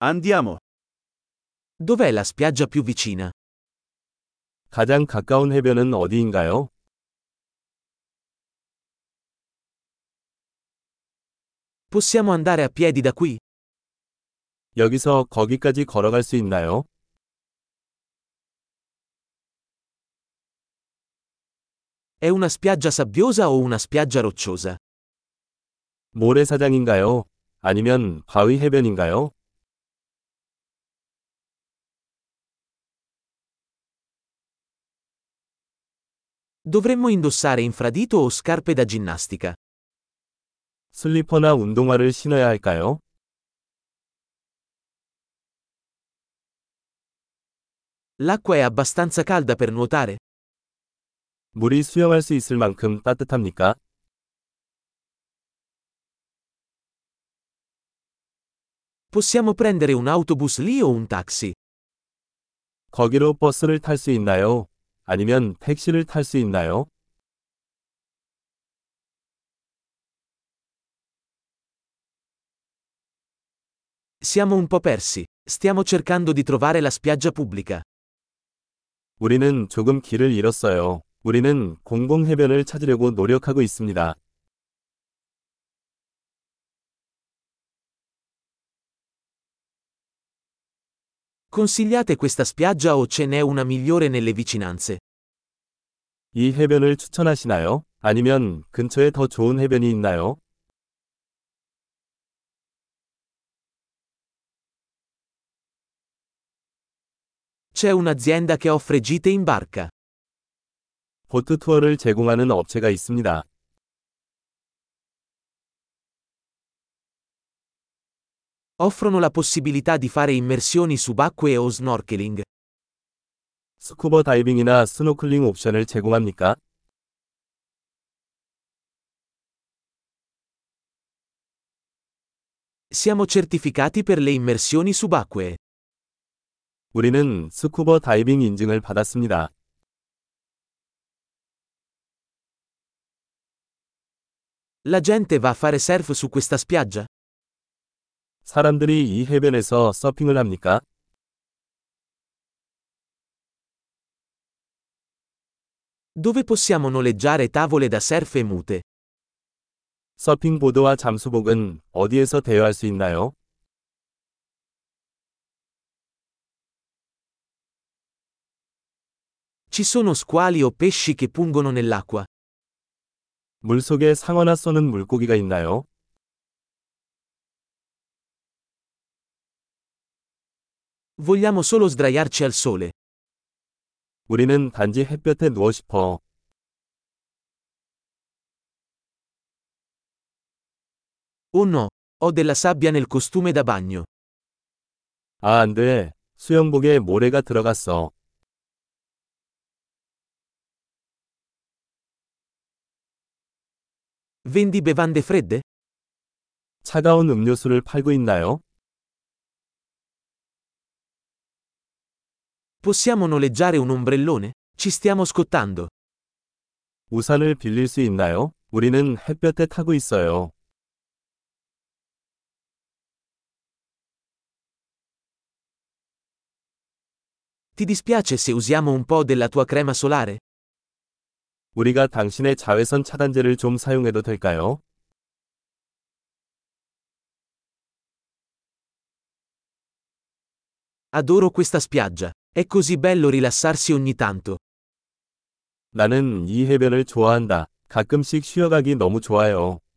Andiamo. Dov'è la spiaggia più vicina? 가장 가까운 해변은 어디인가요? Possiamo andare a piedi da qui? 여기서 거기까지 걸어갈 수 있나요? È una spiaggia sabbiosa o una spiaggia rocciosa? 모래사장인가요? 아니면 바위 해변인가요? Dovremmo indossare infradito o scarpe da ginnastica? 슬리퍼나 운동화를 신어야 할까요? L'acqua è abbastanza calda per nuotare? 물이 수영할 수 있을 만큼 따뜻합니까? Possiamo prendere un autobus lì o un taxi? 거기로 버스를 탈 수 있나요? 아니면 택시를 탈 수 있나요? Siamo un po' persi. Stiamo cercando di trovare la spiaggia pubblica. 우리는 조금 길을 잃었어요. 우리는 공공해변을 찾으려고 노력하고 있습니다. Consigliate questa spiaggia o ce n'è una migliore nelle vicinanze? 이 해변을 추천하시나요? 아니면 근처에 더 좋은 해변이 있나요? C'è un'azienda che offre gite in barca. 보트 투어를 제공하는 업체가 있습니다. Offrono la possibilità di fare immersioni subacquee o snorkeling. 스쿠버 다이빙이나 스노클링 옵션을 제공합니까? Siamo certificati per le immersioni subacquee. 우리는 스쿠버 다이빙 인증을 받았습니다. La gente va a fare surf su questa spiaggia? 사람들이 이 해변에서 서핑을 합니까? Dove possiamo noleggiare tavole da surf e mute? 서핑보드와 잠수복은 어디에서 대여할 수 있나요? Ci sono squali o pesci che pungono nell'acqua? 물속에 상어나 쏘는 물고기가 있나요? Vogliamo solo sdraiarci al sole. 우리는 단지 햇볕에 누워 싶어. Oh no, ho della sabbia nel costume da bagno. 아, 안 돼. 수영복에 모래가 들어갔어. Vendi bevande fredde? 차가운 음료수를 팔고 있나요? Possiamo noleggiare un ombrellone? Ci stiamo scottando. 우산을 빌릴 수 있나요? 우리는 햇볕에 타고 있어요. Ti dispiace se usiamo un po' della tua crema solare? 우리가 당신의 자외선 차단제를 좀 사용해도 될까요? Adoro questa spiaggia. È così bello rilassarsi ogni tanto. 나는 이 해변을 좋아한다. 가끔씩 쉬어가기 너무 좋아요.